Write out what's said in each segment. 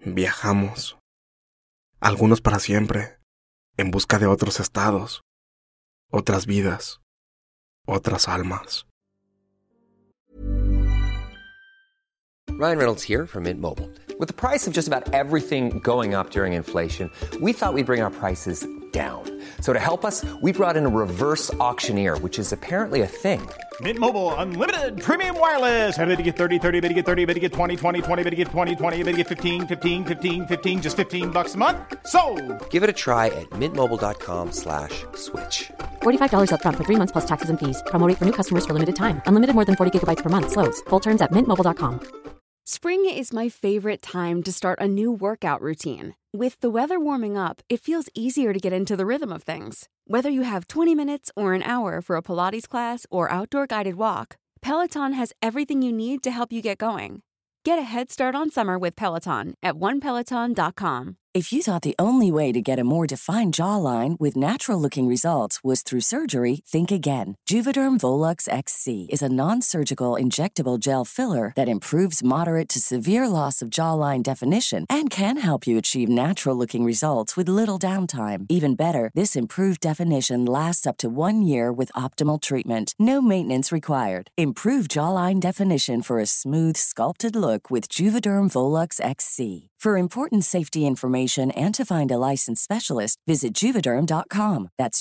Viajamos, algunos para siempre, en busca de otros estados, otras vidas, otras almas. Ryan Reynolds here from Mint Mobile. With the price of just about everything going up during inflation, we thought we'd bring our prices down. So to help us, we brought in a reverse auctioneer, which is apparently a thing. Mint Mobile Unlimited Premium Wireless. How to get 30, 30, bit to get 30, bit to get 20, 20, 20, bit to get 20, 20, bit to get 15, 15, 15, 15, just $15 a month? Sold! Give it a try at mintmobile.com/switch. $45 up front for 3 months plus taxes and fees. Promo rate for new customers for limited time. Unlimited more than 40 gigabytes per month. Slows full terms at mintmobile.com. Spring is my favorite time to start a new workout routine. With the weather warming up, it feels easier to get into the rhythm of things. Whether you have 20 minutes or an hour for a Pilates class or outdoor guided walk, Peloton has everything you need to help you get going. Get a head start on summer with Peloton at onepeloton.com. If you thought the only way to get a more defined jawline with natural-looking results was through surgery, think again. Juvederm Volux XC is a non-surgical injectable gel filler that improves moderate to severe loss of jawline definition and can help you achieve natural-looking results with little downtime. Even better, this improved definition lasts up to 1 year with optimal treatment. No maintenance required. Improve jawline definition for a smooth, sculpted look with Juvederm Volux XC. For important safety information and to find a licensed specialist, visit Juvederm.com. That's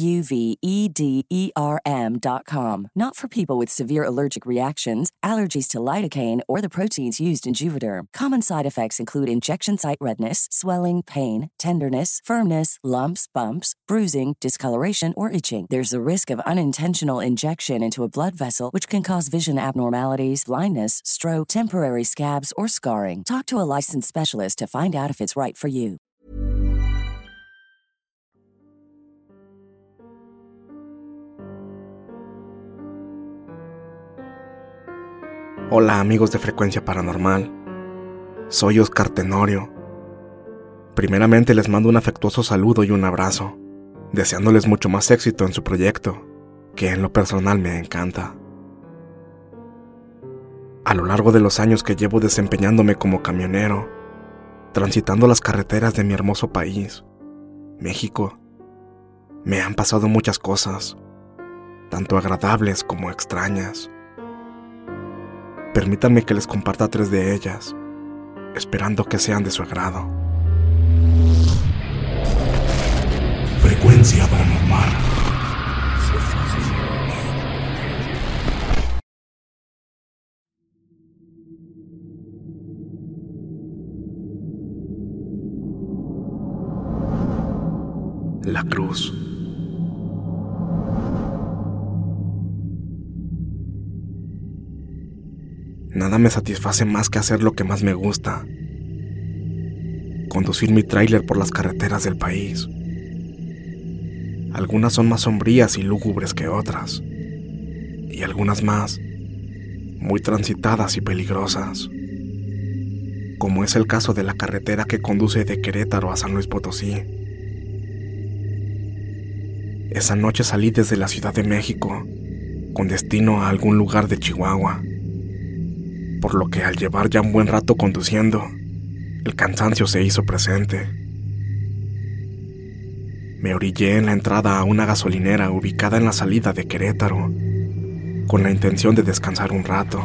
JUVEDERM.com. Not for people with severe allergic reactions, allergies to lidocaine, or the proteins used in Juvederm. Common side effects include injection site redness, swelling, pain, tenderness, firmness, lumps, bumps, bruising, discoloration, or itching. There's a risk of unintentional injection into a blood vessel, which can cause vision abnormalities, blindness, stroke, temporary scabs, or scarring. Talk to a licensed specialist to find out if it's right for you. Hola amigos de Frecuencia Paranormal, soy Oscar Tenorio. Primeramente les mando un afectuoso saludo y un abrazo, deseándoles mucho más éxito en su proyecto, que en lo personal me encanta. A lo largo de los años que llevo desempeñándome como camionero, transitando las carreteras de mi hermoso país, México, me han pasado muchas cosas, tanto agradables como extrañas. Permítanme que les comparta 3 de ellas, esperando que sean de su agrado. Frecuencia Paranormal. La Cruz. Nada me satisface más que hacer lo que más me gusta: conducir mi tráiler por las carreteras del país. Algunas son más sombrías y lúgubres que otras, y algunas más, muy transitadas y peligrosas, como es el caso de la carretera que conduce de Querétaro a San Luis Potosí. Esa noche salí desde la Ciudad de México, con destino a algún lugar de Chihuahua, por lo que al llevar ya un buen rato conduciendo, el cansancio se hizo presente. Me orillé en la entrada a una gasolinera ubicada en la salida de Querétaro, con la intención de descansar un rato.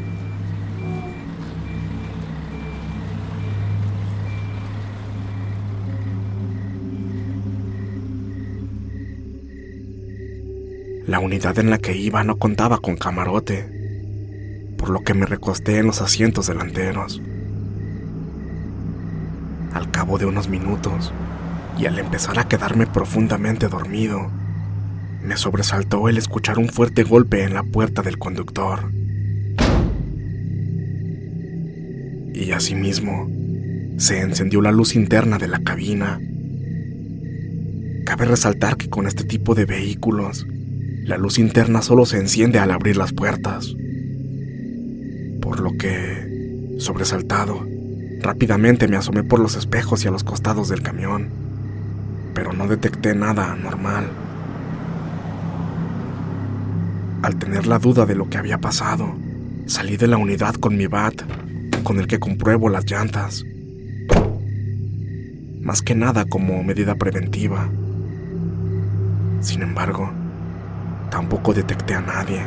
La unidad en la que iba no contaba con camarote, por lo que me recosté en los asientos delanteros. Al cabo de unos minutos, y al empezar a quedarme profundamente dormido, me sobresaltó el escuchar un fuerte golpe en la puerta del conductor. Y asimismo, se encendió la luz interna de la cabina. Cabe resaltar que con este tipo de vehículos, la luz interna solo se enciende al abrir las puertas. Por lo que, sobresaltado, rápidamente me asomé por los espejos y a los costados del camión, pero no detecté nada anormal. Al tener la duda de lo que había pasado, salí de la unidad con mi bat, con el que compruebo las llantas, más que nada como medida preventiva. Sin embargo, tampoco detecté a nadie.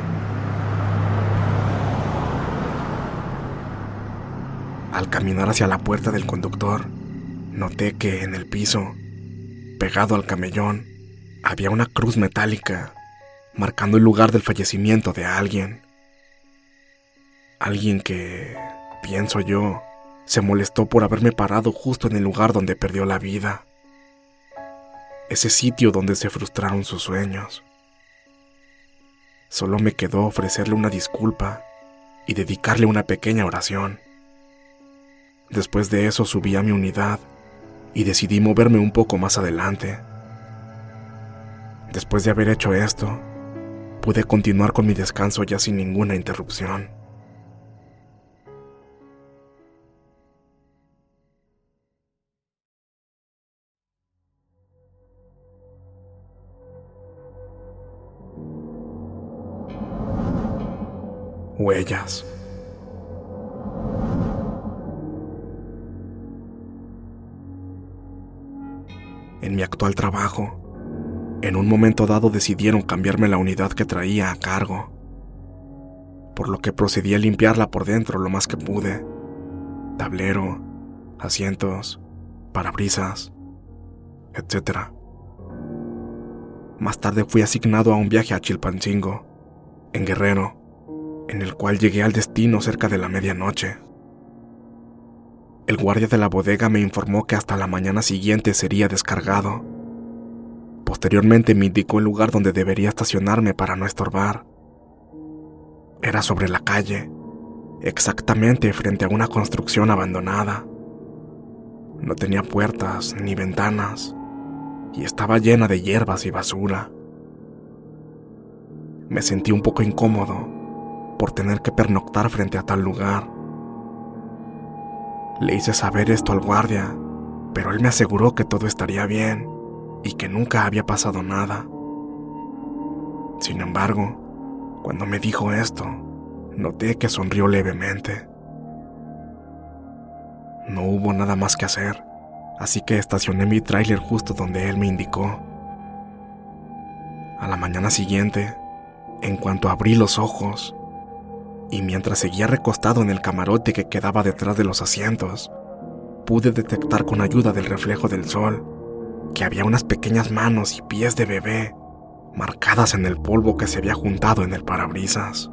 Al caminar hacia la puerta del conductor, noté que en el piso, pegado al camellón, había una cruz metálica, marcando el lugar del fallecimiento de alguien. Alguien que, pienso yo, se molestó por haberme parado justo en el lugar donde perdió la vida. Ese sitio donde se frustraron sus sueños. Solo me quedó ofrecerle una disculpa y dedicarle una pequeña oración. Después de eso subí a mi unidad y decidí moverme un poco más adelante. Después de haber hecho esto, pude continuar con mi descanso ya sin ninguna interrupción. Huellas. En mi actual trabajo, en un momento dado decidieron cambiarme la unidad que traía a cargo, por lo que procedí a limpiarla por dentro lo más que pude. Tablero, asientos, parabrisas, etc. Más tarde fui asignado a un viaje a Chilpancingo, en Guerrero, en el cual llegué al destino cerca de la medianoche. El guardia de la bodega me informó que hasta la mañana siguiente sería descargado. Posteriormente me indicó el lugar donde debería estacionarme para no estorbar. Era sobre la calle, exactamente frente a una construcción abandonada. No tenía puertas ni ventanas y estaba llena de hierbas y basura. Me sentí un poco incómodo por tener que pernoctar frente a tal lugar. Le hice saber esto al guardia, pero él me aseguró que todo estaría bien y que nunca había pasado nada. Sin embargo, cuando me dijo esto, noté que sonrió levemente. No hubo nada más que hacer, así que estacioné mi tráiler justo donde él me indicó. A la mañana siguiente, en cuanto abrí los ojos, y mientras seguía recostado en el camarote que quedaba detrás de los asientos, pude detectar con ayuda del reflejo del sol que había unas pequeñas manos y pies de bebé marcadas en el polvo que se había juntado en el parabrisas.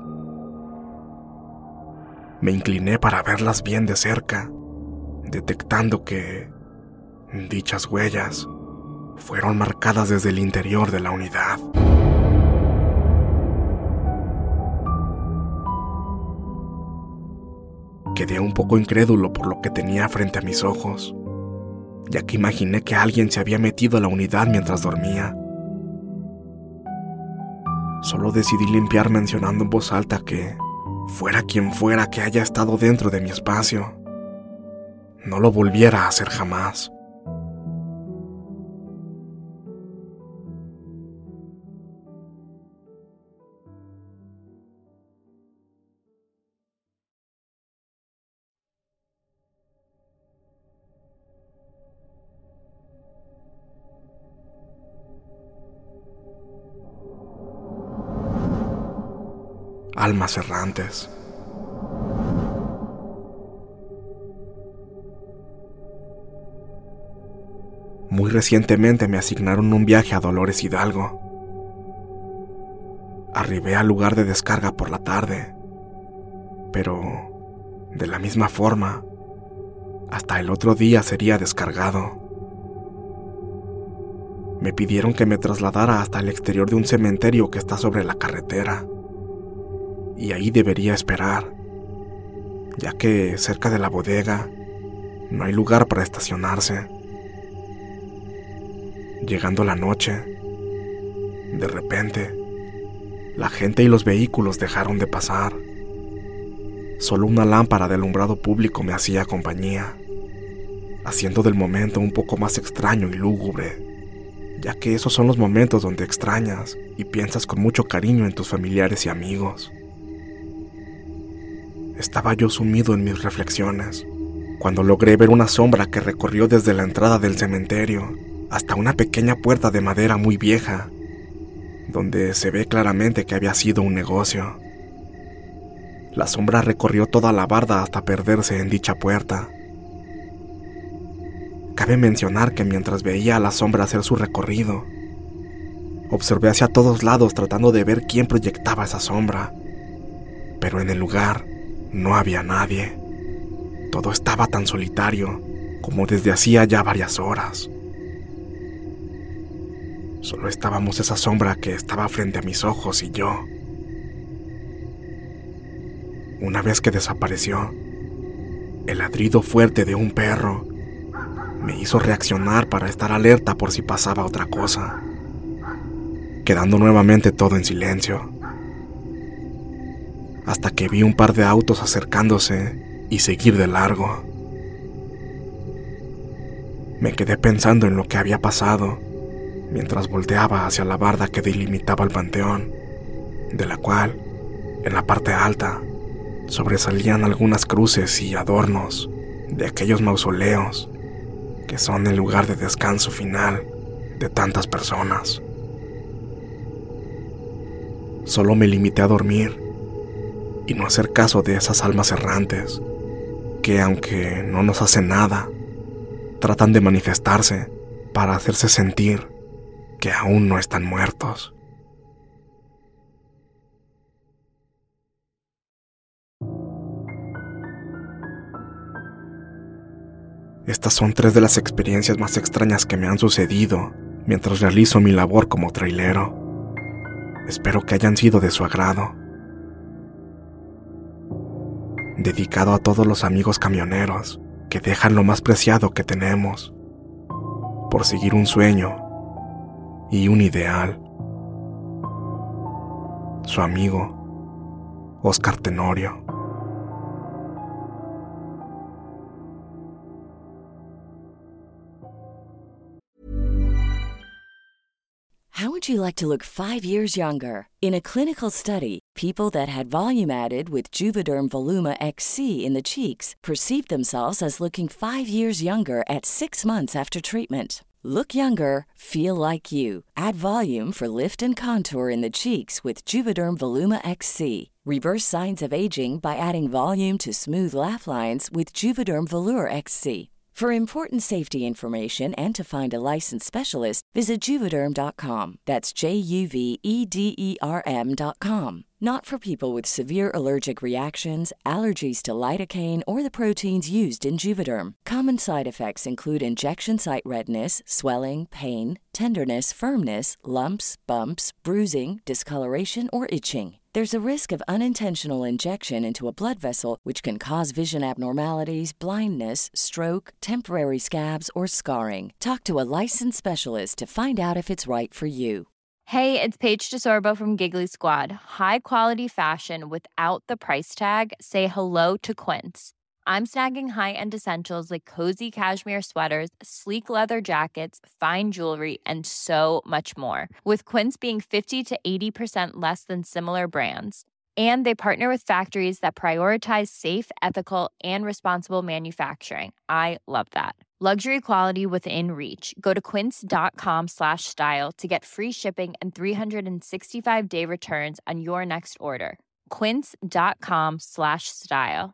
Me incliné para verlas bien de cerca, detectando que dichas huellas fueron marcadas desde el interior de la unidad. Quedé un poco incrédulo por lo que tenía frente a mis ojos, ya que imaginé que alguien se había metido a la unidad mientras dormía. Solo decidí limpiar mencionando en voz alta que, fuera quien fuera que haya estado dentro de mi espacio, no lo volviera a hacer jamás. Almas errantes. Muy recientemente me asignaron un viaje a Dolores Hidalgo. Arribé al lugar de descarga por la tarde, pero de la misma forma, hasta el otro día sería descargado. Me pidieron que me trasladara hasta el exterior de un cementerio que está sobre la carretera, y ahí debería esperar, ya que cerca de la bodega no hay lugar para estacionarse. Llegando la noche, de repente, la gente y los vehículos dejaron de pasar. Solo una lámpara de alumbrado público me hacía compañía, haciendo del momento un poco más extraño y lúgubre, ya que esos son los momentos donde extrañas y piensas con mucho cariño en tus familiares y amigos. Estaba yo sumido en mis reflexiones, cuando logré ver una sombra que recorrió desde la entrada del cementerio hasta una pequeña puerta de madera muy vieja, donde se ve claramente que había sido un negocio. La sombra recorrió toda la barda hasta perderse en dicha puerta. Cabe mencionar que mientras veía a la sombra hacer su recorrido, observé hacia todos lados tratando de ver quién proyectaba esa sombra, pero en el lugar no había nadie. Todo estaba tan solitario como desde hacía ya varias horas. Solo estábamos esa sombra que estaba frente a mis ojos y yo. Una vez que desapareció, el ladrido fuerte de un perro me hizo reaccionar para estar alerta por si pasaba otra cosa, quedando nuevamente todo en silencio, hasta que vi un par de autos acercándose y seguir de largo. Me quedé pensando en lo que había pasado mientras volteaba hacia la barda que delimitaba el panteón, de la cual, en la parte alta, sobresalían algunas cruces y adornos de aquellos mausoleos que son el lugar de descanso final de tantas personas. Solo me limité a dormir y no hacer caso de esas almas errantes que, aunque no nos hacen nada, tratan de manifestarse para hacerse sentir que aún no están muertos. Estas son 3 de las experiencias más extrañas que me han sucedido mientras realizo mi labor como trailero. Espero que hayan sido de su agrado. Dedicado a todos los amigos camioneros que dejan lo más preciado que tenemos por seguir un sueño y un ideal. Su amigo, Oscar Tenorio. How would you like to look 5 years younger? In a clinical study, people that had volume added with Juvederm Voluma XC in the cheeks perceived themselves as looking 5 years younger at 6 months after treatment. Look younger, feel like you. Add volume for lift and contour in the cheeks with Juvederm Voluma XC. Reverse signs of aging by adding volume to smooth laugh lines with Juvederm Volure XC. For important safety information and to find a licensed specialist, visit Juvederm.com. That's JUVEDERM.com. Not for people with severe allergic reactions, allergies to lidocaine, or the proteins used in Juvederm. Common side effects include injection site redness, swelling, pain, tenderness, firmness, lumps, bumps, bruising, discoloration, or itching. There's a risk of unintentional injection into a blood vessel, which can cause vision abnormalities, blindness, stroke, temporary scabs, or scarring. Talk to a licensed specialist to find out if it's right for you. Hey, it's Paige DeSorbo from Giggly Squad. High quality fashion without the price tag. Say hello to Quince. I'm snagging high-end essentials like cozy cashmere sweaters, sleek leather jackets, fine jewelry, and so much more. With Quince being 50 to 80% less than similar brands. And they partner with factories that prioritize safe, ethical, and responsible manufacturing. I love that. Luxury quality within reach. Go to quince.com/style to get free shipping and 365-day returns on your next order. Quince.com/style.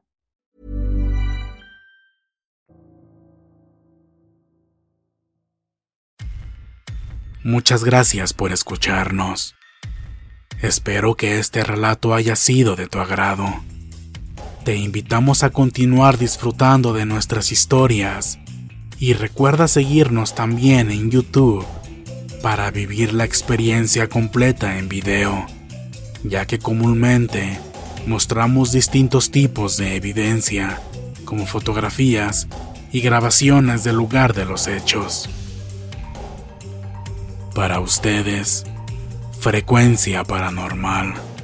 Muchas gracias por escucharnos. Espero que este relato haya sido de tu agrado. Te invitamos a continuar disfrutando de nuestras historias y recuerda seguirnos también en YouTube para vivir la experiencia completa en video, ya que comúnmente mostramos distintos tipos de evidencia, como fotografías y grabaciones del lugar de los hechos. Para ustedes, Frecuencia Paranormal.